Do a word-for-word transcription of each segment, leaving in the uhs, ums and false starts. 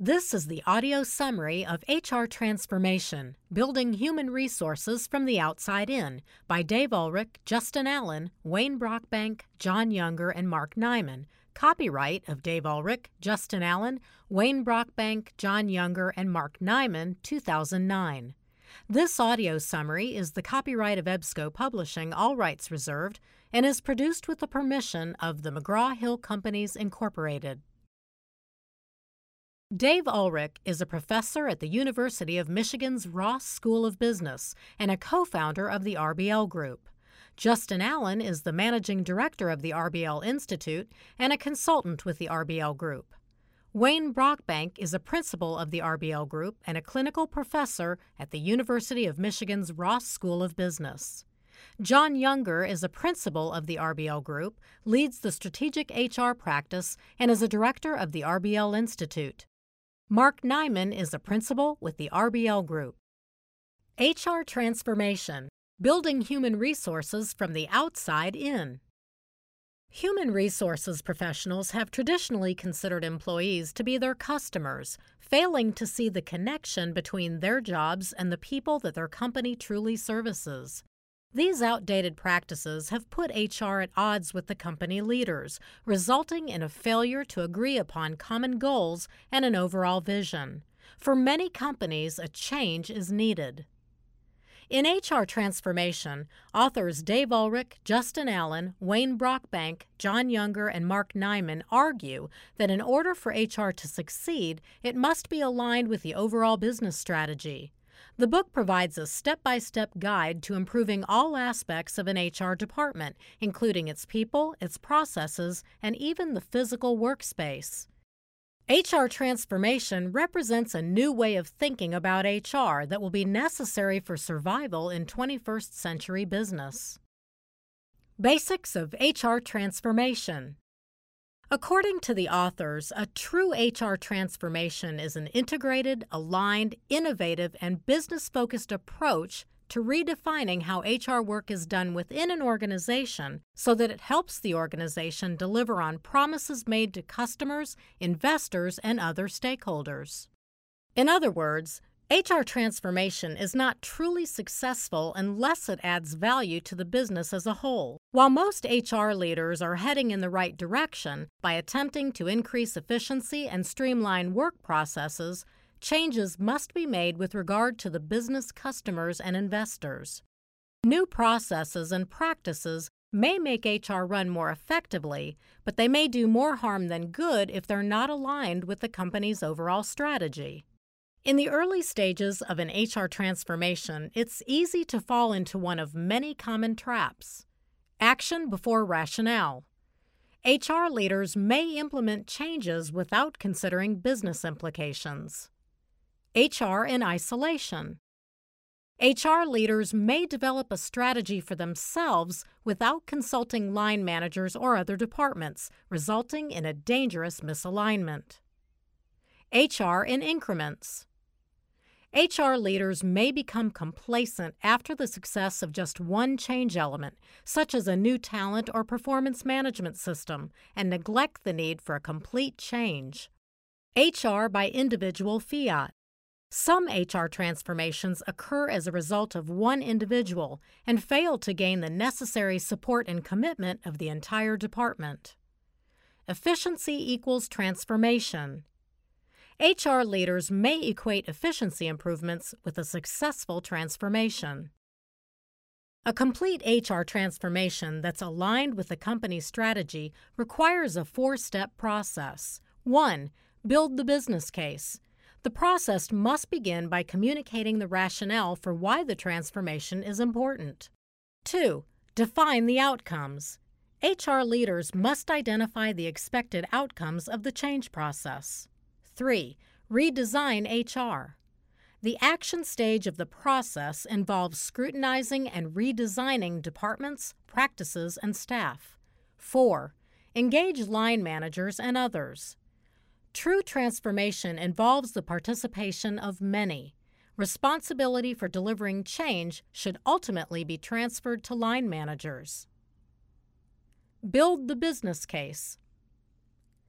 This is the audio summary of H R Transformation, Building Human Resources from the Outside In by Dave Ulrich, Justin Allen, Wayne Brockbank, John Younger, and Mark Nyman. Copyright of Dave Ulrich, Justin Allen, Wayne Brockbank, John Younger, and Mark Nyman, two thousand nine. This audio summary is the copyright of EBSCO Publishing, all rights reserved, and is produced with the permission of the McGraw-Hill Companies, Incorporated. Dave Ulrich is a professor at the University of Michigan's Ross School of Business and a co-founder of the R B L Group. Justin Allen is the managing director of the R B L Institute and a consultant with the R B L Group. Wayne Brockbank is a principal of the R B L Group and a clinical professor at the University of Michigan's Ross School of Business. John Younger is a principal of the R B L Group, leads the strategic H R practice, and is a director of the R B L Institute. Mark Nyman is a principal with the R B L Group. H R Transformation, Building Human Resources from the Outside In. Human resources professionals have traditionally considered employees to be their customers, failing to see the connection between their jobs and the people that their company truly services. These outdated practices have put H R at odds with the company leaders, resulting in a failure to agree upon common goals and an overall vision. For many companies, a change is needed. In H R Transformation, authors Dave Ulrich, Justin Allen, Wayne Brockbank, John Younger, and Mark Nyman argue that in order for H R to succeed, it must be aligned with the overall business strategy. The book provides a step-by-step guide to improving all aspects of an H R department, including its people, its processes, and even the physical workspace. H R Transformation represents a new way of thinking about H R that will be necessary for survival in twenty-first century business. Basics of H R Transformation. According to the authors, a true H R transformation is an integrated, aligned, innovative, and business-focused approach to redefining how H R work is done within an organization so that it helps the organization deliver on promises made to customers, investors, and other stakeholders. In other words, H R transformation is not truly successful unless it adds value to the business as a whole. While most H R leaders are heading in the right direction by attempting to increase efficiency and streamline work processes, changes must be made with regard to the business customers and investors. New processes and practices may make H R run more effectively, but they may do more harm than good if they're not aligned with the company's overall strategy. In the early stages of an H R transformation, it's easy to fall into one of many common traps. Action before rationale. H R leaders may implement changes without considering business implications. H R in isolation. H R leaders may develop a strategy for themselves without consulting line managers or other departments, resulting in a dangerous misalignment. H R in increments. H R leaders may become complacent after the success of just one change element, such as a new talent or performance management system, and neglect the need for a complete change. H R by individual fiat. Some H R transformations occur as a result of one individual and fail to gain the necessary support and commitment of the entire department. Efficiency equals transformation. H R leaders may equate efficiency improvements with a successful transformation. A complete H R transformation that's aligned with the company's strategy requires a four-step process. One, build the business case. The process must begin by communicating the rationale for why the transformation is important. Two, define the outcomes. H R leaders must identify the expected outcomes of the change process. Three, redesign H R. The action stage of the process involves scrutinizing and redesigning departments, practices, and staff. Four, engage line managers and others. True transformation involves the participation of many. Responsibility for delivering change should ultimately be transferred to line managers. Build the business case.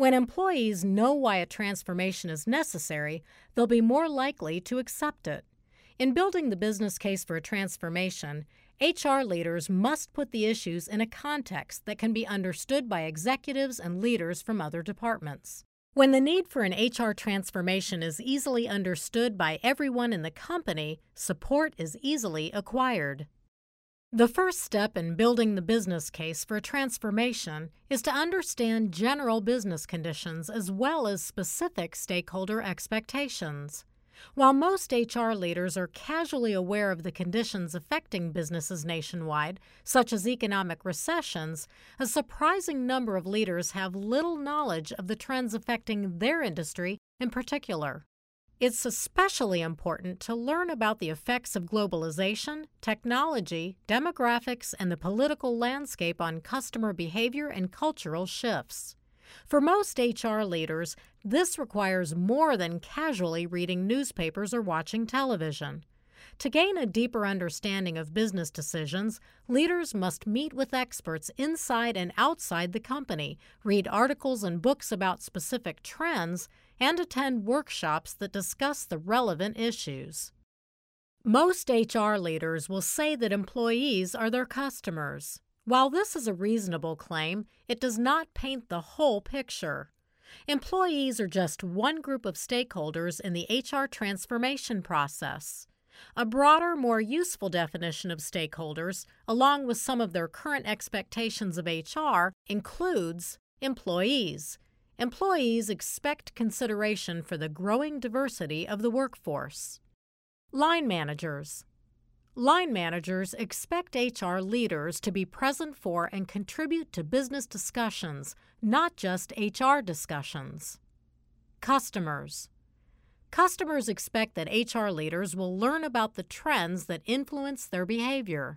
When employees know why a transformation is necessary, they'll be more likely to accept it. In building the business case for a transformation, H R leaders must put the issues in a context that can be understood by executives and leaders from other departments. When the need for an H R transformation is easily understood by everyone in the company, support is easily acquired. The first step in building the business case for a transformation is to understand general business conditions as well as specific stakeholder expectations. While most H R leaders are casually aware of the conditions affecting businesses nationwide, such as economic recessions, a surprising number of leaders have little knowledge of the trends affecting their industry in particular. It's especially important to learn about the effects of globalization, technology, demographics, and the political landscape on customer behavior and cultural shifts. For most H R leaders, this requires more than casually reading newspapers or watching television. To gain a deeper understanding of business decisions, leaders must meet with experts inside and outside the company, read articles and books about specific trends, and attend workshops that discuss the relevant issues. Most H R leaders will say that employees are their customers. While this is a reasonable claim, it does not paint the whole picture. Employees are just one group of stakeholders in the H R transformation process. A broader, more useful definition of stakeholders, along with some of their current expectations of H R, includes employees. Employees expect consideration for the growing diversity of the workforce. Line managers. Line managers expect H R leaders to be present for and contribute to business discussions, not just H R discussions. Customers. Customers expect that H R leaders will learn about the trends that influence their behavior.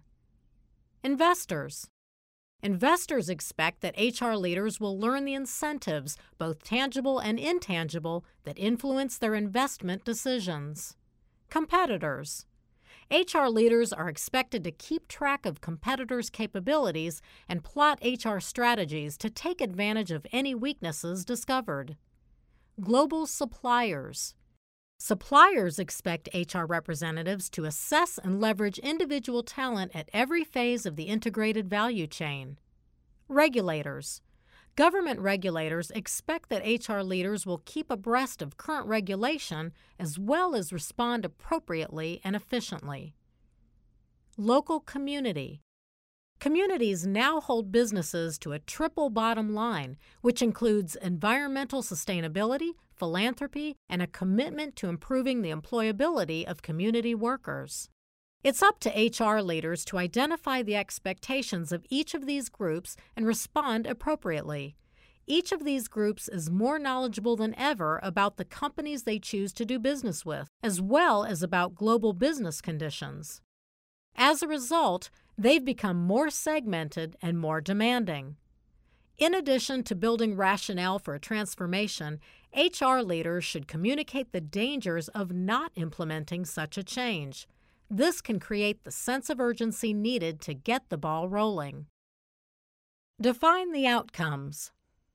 Investors. Investors expect that H R leaders will learn the incentives, both tangible and intangible, that influence their investment decisions. Competitors. H R leaders are expected to keep track of competitors' capabilities and plot H R strategies to take advantage of any weaknesses discovered. Global suppliers. Suppliers expect H R representatives to assess and leverage individual talent at every phase of the integrated value chain. Regulators. Government regulators expect that H R leaders will keep abreast of current regulation as well as respond appropriately and efficiently. Local community. Communities now hold businesses to a triple bottom line, which includes environmental sustainability, philanthropy, and a commitment to improving the employability of community workers. It's up to H R leaders to identify the expectations of each of these groups and respond appropriately. Each of these groups is more knowledgeable than ever about the companies they choose to do business with, as well as about global business conditions. As a result, they've become more segmented and more demanding. In addition to building rationale for a transformation, H R leaders should communicate the dangers of not implementing such a change. This can create the sense of urgency needed to get the ball rolling. Define the outcomes.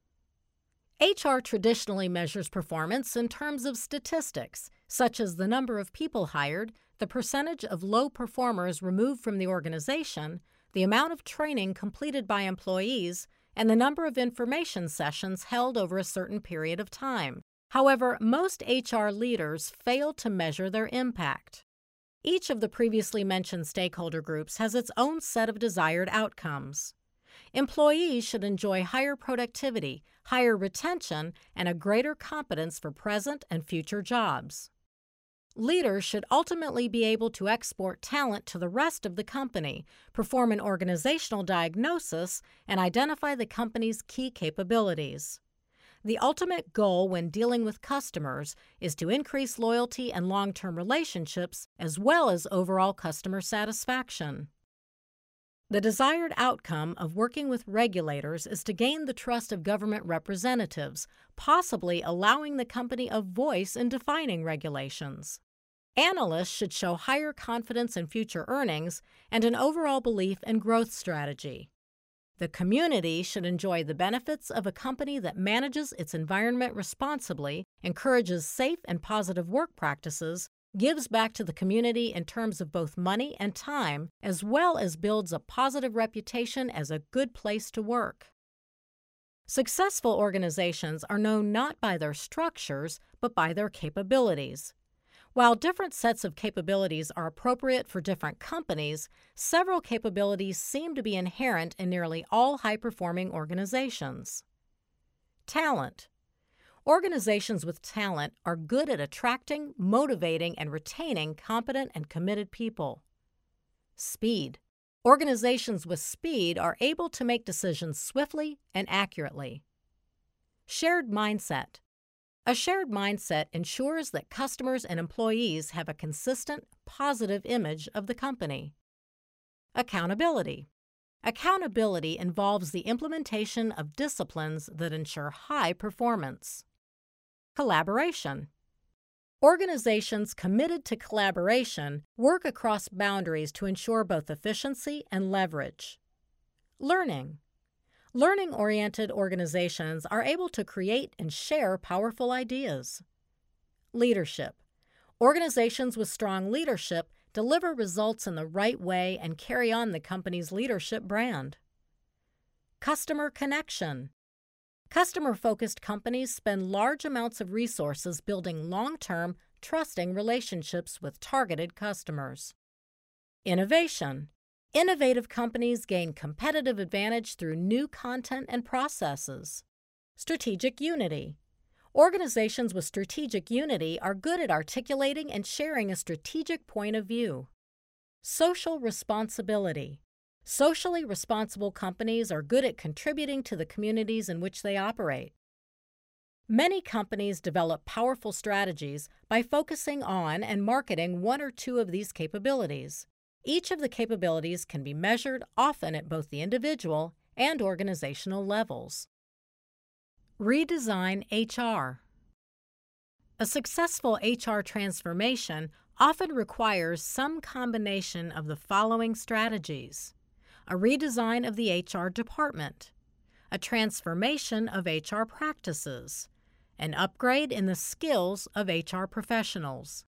H R traditionally measures performance in terms of statistics, such as the number of people hired, the percentage of low performers removed from the organization, the amount of training completed by employees, and the number of information sessions held over a certain period of time. However, most H R leaders fail to measure their impact. Each of the previously mentioned stakeholder groups has its own set of desired outcomes. Employees should enjoy higher productivity, higher retention, and a greater competence for present and future jobs. Leaders should ultimately be able to export talent to the rest of the company, perform an organizational diagnosis, and identify the company's key capabilities. The ultimate goal when dealing with customers is to increase loyalty and long-term relationships as well as overall customer satisfaction. The desired outcome of working with regulators is to gain the trust of government representatives, possibly allowing the company a voice in defining regulations. Analysts should show higher confidence in future earnings and an overall belief in growth strategy. The community should enjoy the benefits of a company that manages its environment responsibly, encourages safe and positive work practices, gives back to the community in terms of both money and time, as well as builds a positive reputation as a good place to work. Successful organizations are known not by their structures, but by their capabilities. While different sets of capabilities are appropriate for different companies, several capabilities seem to be inherent in nearly all high-performing organizations. Talent. Organizations with talent are good at attracting, motivating, and retaining competent and committed people. Speed. Organizations with speed are able to make decisions swiftly and accurately. Shared mindset. A shared mindset ensures that customers and employees have a consistent, positive image of the company. Accountability. Accountability involves the implementation of disciplines that ensure high performance. Collaboration. Organizations committed to collaboration work across boundaries to ensure both efficiency and leverage. Learning. Learning-oriented organizations are able to create and share powerful ideas. Leadership. Organizations with strong leadership deliver results in the right way and carry on the company's leadership brand. Customer connection. Customer-focused companies spend large amounts of resources building long-term, trusting relationships with targeted customers. Innovation. Innovative companies gain competitive advantage through new content and processes. Strategic unity. Organizations with strategic unity are good at articulating and sharing a strategic point of view. Social responsibility. Socially responsible companies are good at contributing to the communities in which they operate. Many companies develop powerful strategies by focusing on and marketing one or two of these capabilities. Each of the capabilities can be measured often at both the individual and organizational levels. Redesign H R. A successful H R transformation often requires some combination of the following strategies: a redesign of the H R department, a transformation of H R practices, an upgrade in the skills of H R professionals.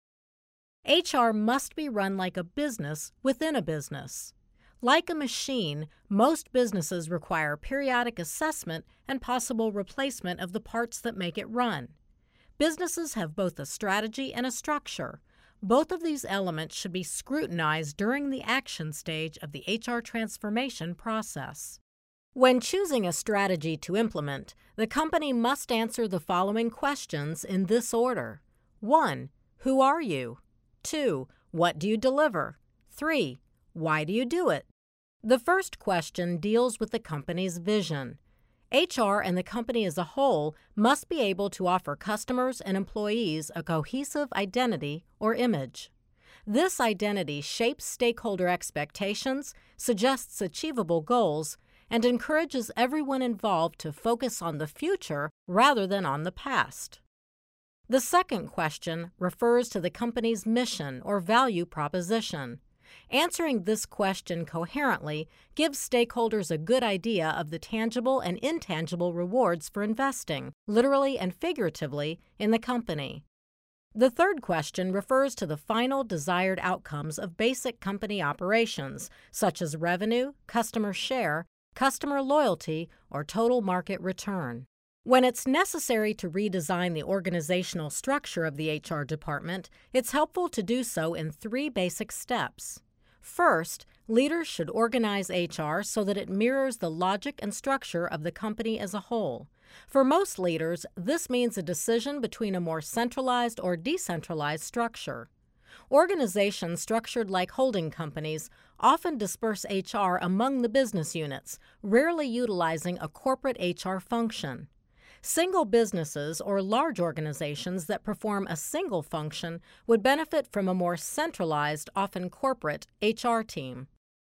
H R must be run like a business within a business. Like a machine, most businesses require periodic assessment and possible replacement of the parts that make it run. Businesses have both a strategy and a structure. Both of these elements should be scrutinized during the action stage of the H R transformation process. When choosing a strategy to implement, the company must answer the following questions in this order. one. Who are you? two. What do you deliver? three. Why do you do it? The first question deals with the company's vision. H R and the company as a whole must be able to offer customers and employees a cohesive identity or image. This identity shapes stakeholder expectations, suggests achievable goals, and encourages everyone involved to focus on the future rather than on the past. The second question refers to the company's mission or value proposition. Answering this question coherently gives stakeholders a good idea of the tangible and intangible rewards for investing, literally and figuratively, in the company. The third question refers to the final desired outcomes of basic company operations, such as revenue, customer share, customer loyalty, or total market return. When it's necessary to redesign the organizational structure of the H R department, it's helpful to do so in three basic steps. First, leaders should organize H R so that it mirrors the logic and structure of the company as a whole. For most leaders, this means a decision between a more centralized or decentralized structure. Organizations structured like holding companies often disperse H R among the business units, rarely utilizing a corporate H R function. Single businesses or large organizations that perform a single function would benefit from a more centralized, often corporate, H R team.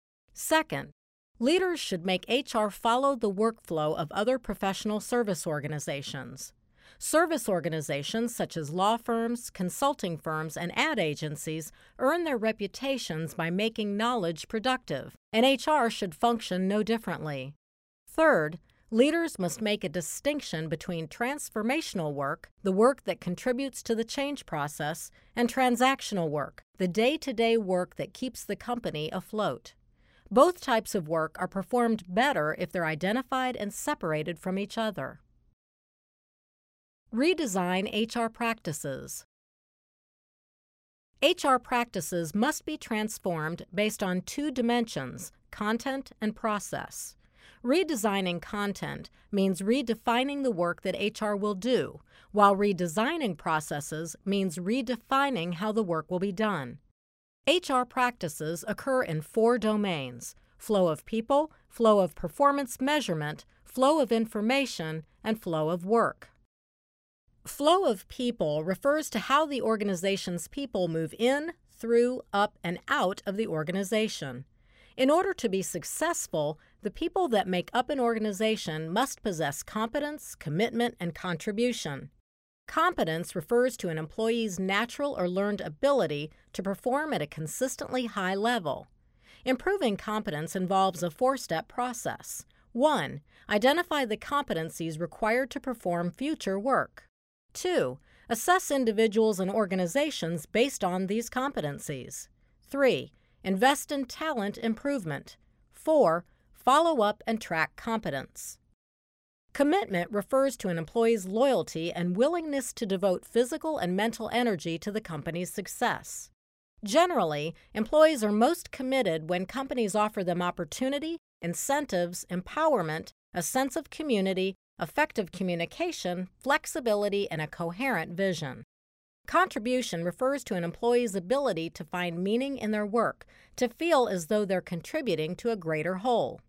Second, leaders should make H R follow the workflow of other professional service organizations. Service organizations such as law firms, consulting firms, and ad agencies earn their reputations by making knowledge productive, and H R should function no differently. Third, leaders must make a distinction between transformational work, the work that contributes to the change process, and transactional work, the day-to-day work that keeps the company afloat. Both types of work are performed better if they're identified and separated from each other. Redesign H R practices. H R practices must be transformed based on two dimensions, content and process. Redesigning content means redefining the work that H R will do, while redesigning processes means redefining how the work will be done. H R practices occur in four domains: flow of people, flow of performance measurement, flow of information, and flow of work. Flow of people refers to how the organization's people move in, through, up, and out of the organization. In order to be successful, the people that make up an organization must possess competence, commitment, and contribution. Competence refers to an employee's natural or learned ability to perform at a consistently high level. Improving competence involves a four-step process. One, identify the competencies required to perform future work. Two, assess individuals and organizations based on these competencies. Three, invest in talent improvement. Four, follow up and track competence. Commitment refers to an employee's loyalty and willingness to devote physical and mental energy to the company's success. Generally, employees are most committed when companies offer them opportunity, incentives, empowerment, a sense of community, effective communication, flexibility, and a coherent vision. Contribution refers to an employee's ability to find meaning in their work, to feel as though they're contributing to a greater whole.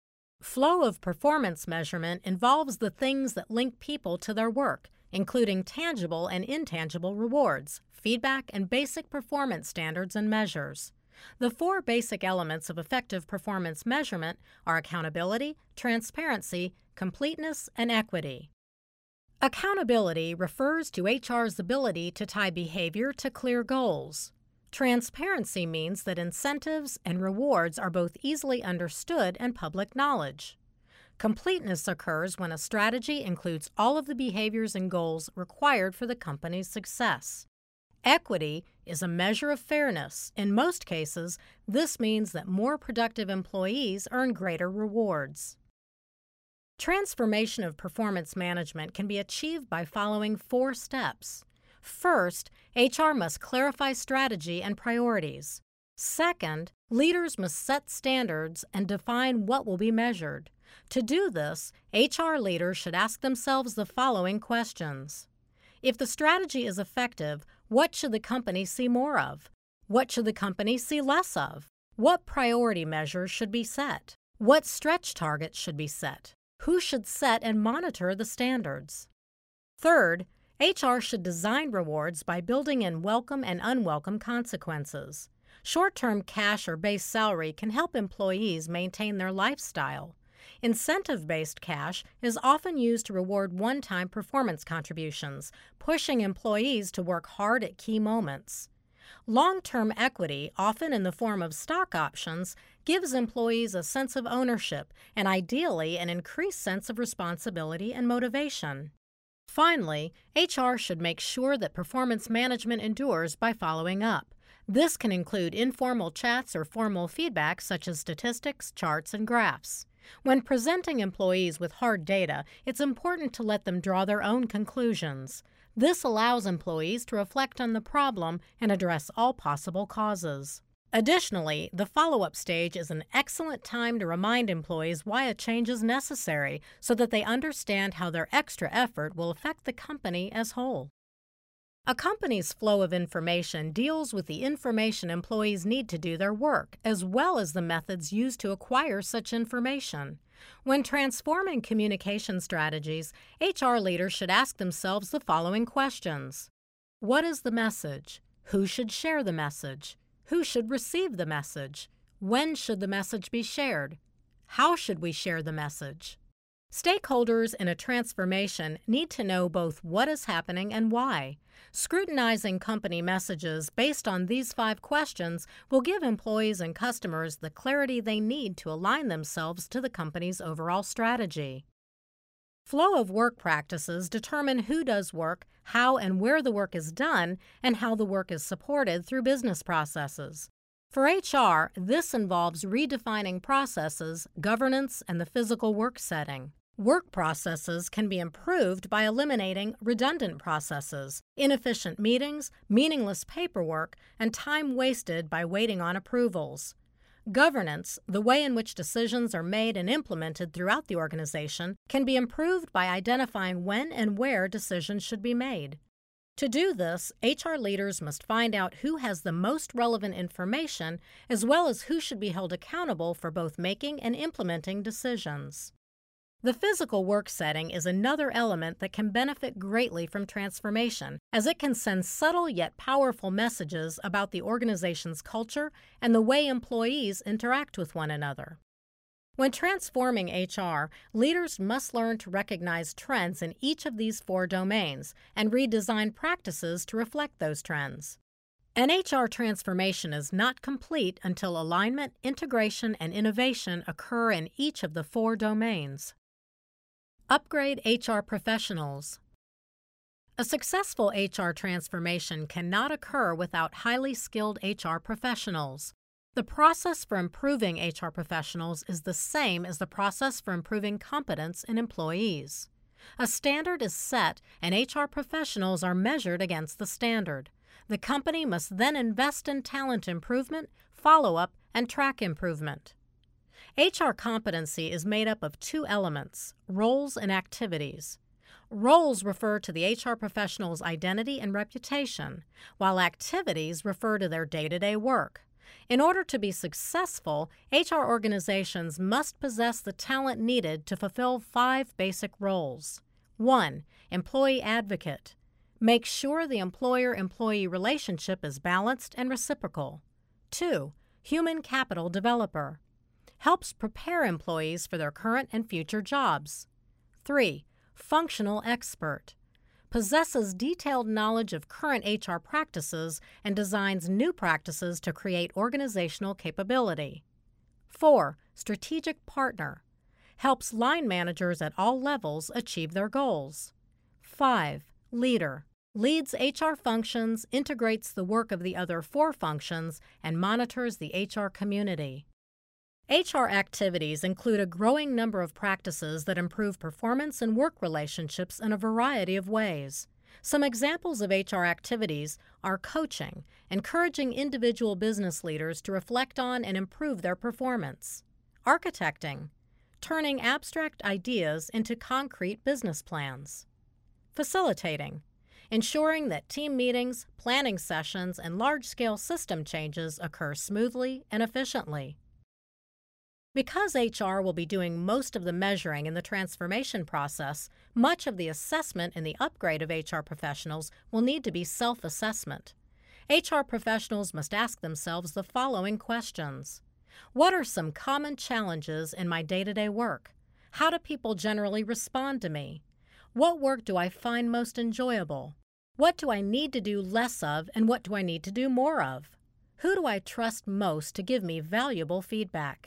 Flow of performance measurement involves the things that link people to their work, including tangible and intangible rewards, feedback, and basic performance standards and measures. The four basic elements of effective performance measurement are accountability, transparency, completeness, and equity. Accountability refers to H R's ability to tie behavior to clear goals. Transparency means that incentives and rewards are both easily understood and public knowledge. Completeness occurs when a strategy includes all of the behaviors and goals required for the company's success. Equity is a measure of fairness. In most cases, this means that more productive employees earn greater rewards. Transformation of performance management can be achieved by following four steps. First, H R must clarify strategy and priorities. Second, leaders must set standards and define what will be measured. To do this, H R leaders should ask themselves the following questions. If the strategy is effective, what should the company see more of? What should the company see less of? What priority measures should be set? What stretch targets should be set? Who should set and monitor the standards? Third, H R should design rewards by building in welcome and unwelcome consequences. Short-term cash or base salary can help employees maintain their lifestyle. Incentive-based cash is often used to reward one-time performance contributions, pushing employees to work hard at key moments. Long-term equity, often in the form of stock options, gives employees a sense of ownership and ideally an increased sense of responsibility and motivation. Finally, H R should make sure that performance management endures by following up. This can include informal chats or formal feedback such as statistics, charts, and graphs. When presenting employees with hard data, it's important to let them draw their own conclusions. This allows employees to reflect on the problem and address all possible causes. Additionally, the follow-up stage is an excellent time to remind employees why a change is necessary so that they understand how their extra effort will affect the company as whole. A company's flow of information deals with the information employees need to do their work, as well as the methods used to acquire such information. When transforming communication strategies, H R leaders should ask themselves the following questions. What is the message? Who should share the message? Who should receive the message? When should the message be shared? How should we share the message? Stakeholders in a transformation need to know both what is happening and why. Scrutinizing company messages based on these five questions will give employees and customers the clarity they need to align themselves to the company's overall strategy. Flow of work practices determine who does work, how and where the work is done, and how the work is supported through business processes. For H R, this involves redefining processes, governance, and the physical work setting. Work processes can be improved by eliminating redundant processes, inefficient meetings, meaningless paperwork, and time wasted by waiting on approvals. Governance, the way in which decisions are made and implemented throughout the organization, can be improved by identifying when and where decisions should be made. To do this, H R leaders must find out who has the most relevant information, as well as who should be held accountable for both making and implementing decisions. The physical work setting is another element that can benefit greatly from transformation, as it can send subtle yet powerful messages about the organization's culture and the way employees interact with one another. When transforming H R, leaders must learn to recognize trends in each of these four domains and redesign practices to reflect those trends. An H R transformation is not complete until alignment, integration, and innovation occur in each of the four domains. Upgrade H R professionals. A successful H R transformation cannot occur without highly skilled H R professionals. The process for improving H R professionals is the same as the process for improving competence in employees. A standard is set, and H R professionals are measured against the standard. The company must then invest in talent improvement, follow-up, and track improvement. H R competency is made up of two elements, roles and activities. Roles refer to the H R professional's identity and reputation, while activities refer to their day-to-day work. In order to be successful, H R organizations must possess the talent needed to fulfill five basic roles. one. Employee advocate. Make sure the employer-employee relationship is balanced and reciprocal. two. Human capital developer. Helps prepare employees for their current and future jobs. three. Functional expert. Possesses detailed knowledge of current H R practices and designs new practices to create organizational capability. four. Strategic partner. Helps line managers at all levels achieve their goals. five. Leader. Leads H R functions, integrates the work of the other four functions, and monitors the H R community. H R activities include a growing number of practices that improve performance and work relationships in a variety of ways. Some examples of H R activities are coaching, encouraging individual business leaders to reflect on and improve their performance; architecting, turning abstract ideas into concrete business plans; facilitating, ensuring that team meetings, planning sessions, and large-scale system changes occur smoothly and efficiently. Because H R will be doing most of the measuring in the transformation process, much of the assessment in the upgrade of H R professionals will need to be self-assessment. H R professionals must ask themselves the following questions. What are some common challenges in my day-to-day work? How do people generally respond to me? What work do I find most enjoyable? What do I need to do less of, and what do I need to do more of? Who do I trust most to give me valuable feedback?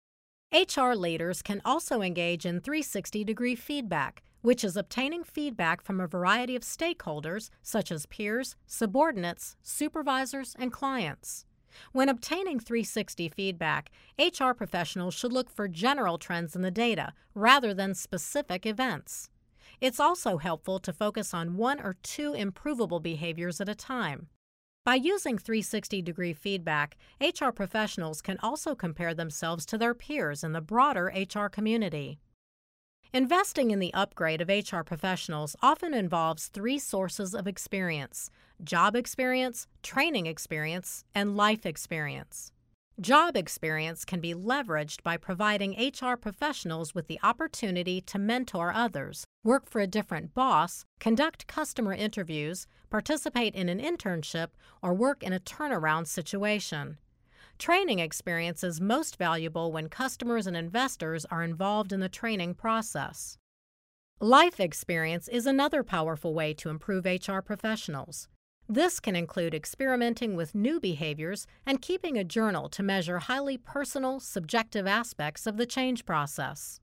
H R leaders can also engage in three sixty degree feedback, which is obtaining feedback from a variety of stakeholders such as peers, subordinates, supervisors, and clients. When obtaining three sixty feedback, H R professionals should look for general trends in the data rather than specific events. It's also helpful to focus on one or two improvable behaviors at a time. By using three sixty degree feedback, H R professionals can also compare themselves to their peers in the broader H R community. Investing in the upgrade of H R professionals often involves three sources of experience: job experience, training experience, and life experience. Job experience can be leveraged by providing H R professionals with the opportunity to mentor others, work for a different boss, conduct customer interviews, participate in an internship, or work in a turnaround situation. Training experience is most valuable when customers and investors are involved in the training process. Life experience is another powerful way to improve H R professionals. This can include experimenting with new behaviors and keeping a journal to measure highly personal, subjective aspects of the change process.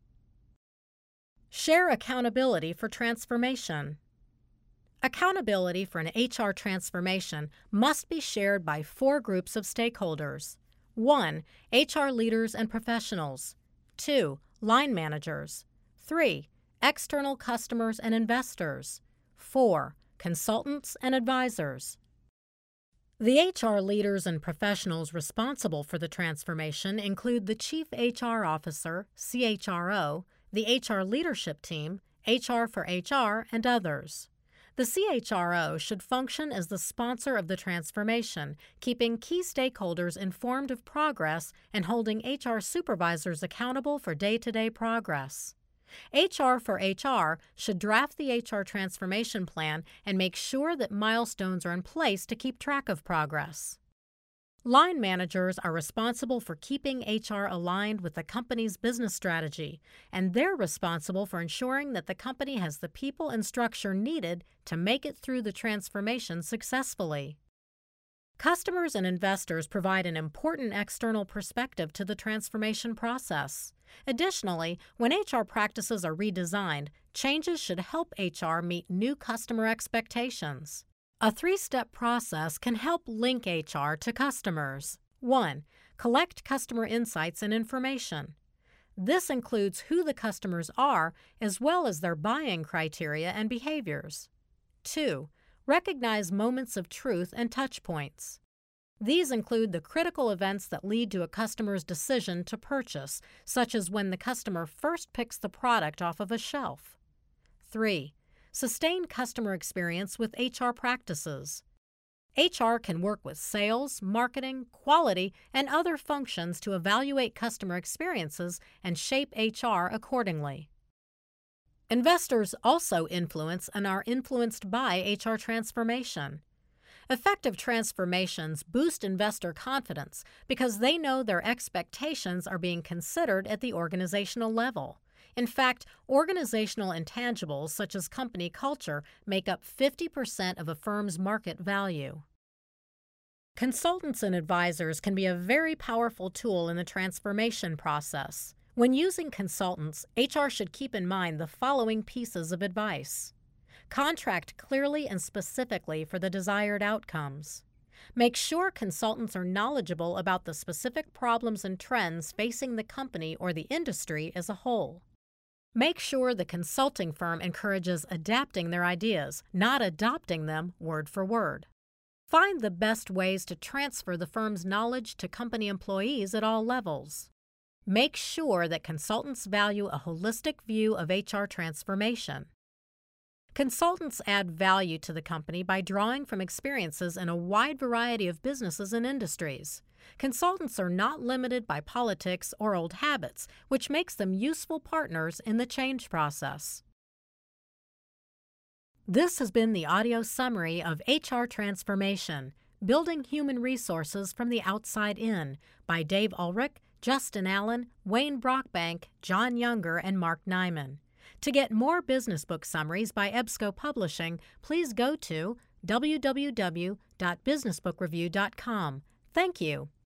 Share accountability for transformation. Accountability for an H R transformation must be shared by four groups of stakeholders. one. H R leaders and professionals. two. Line managers. three. External customers and investors. four. Consultants and advisors. The H R leaders and professionals responsible for the transformation include the Chief H R Officer, C H R O, the H R leadership team, H R for H R, and others. The C H R O should function as the sponsor of the transformation, keeping key stakeholders informed of progress and holding H R supervisors accountable for day-to-day progress. H R for H R should draft the H R transformation plan and make sure that milestones are in place to keep track of progress. Line managers are responsible for keeping H R aligned with the company's business strategy, and they're responsible for ensuring that the company has the people and structure needed to make it through the transformation successfully. Customers and investors provide an important external perspective to the transformation process. Additionally, when H R practices are redesigned, changes should help H R meet new customer expectations. A three-step process can help link H R to customers. one. Collect customer insights and information. This includes who the customers are as well as their buying criteria and behaviors. two. Recognize moments of truth and touch points. These include the critical events that lead to a customer's decision to purchase, such as when the customer first picks the product off of a shelf. three. Sustain customer experience with H R practices. H R can work with sales, marketing, quality, and other functions to evaluate customer experiences and shape H R accordingly. Investors also influence and are influenced by H R transformation. Effective transformations boost investor confidence because they know their expectations are being considered at the organizational level. In fact, organizational intangibles such as company culture make up fifty percent of a firm's market value. Consultants and advisors can be a very powerful tool in the transformation process. When using consultants, H R should keep in mind the following pieces of advice. Contract clearly and specifically for the desired outcomes. Make sure consultants are knowledgeable about the specific problems and trends facing the company or the industry as a whole. Make sure the consulting firm encourages adapting their ideas, not adopting them word for word. Find the best ways to transfer the firm's knowledge to company employees at all levels. Make sure that consultants value a holistic view of H R transformation. Consultants add value to the company by drawing from experiences in a wide variety of businesses and industries. Consultants are not limited by politics or old habits, which makes them useful partners in the change process. This has been the audio summary of H R Transformation, Building Human Resources from the Outside In by Dave Ulrich, Justin Allen, Wayne Brockbank, John Younger, and Mark Nyman. To get more business book summaries by EBSCO Publishing, please go to w w w dot business book review dot com. Thank you.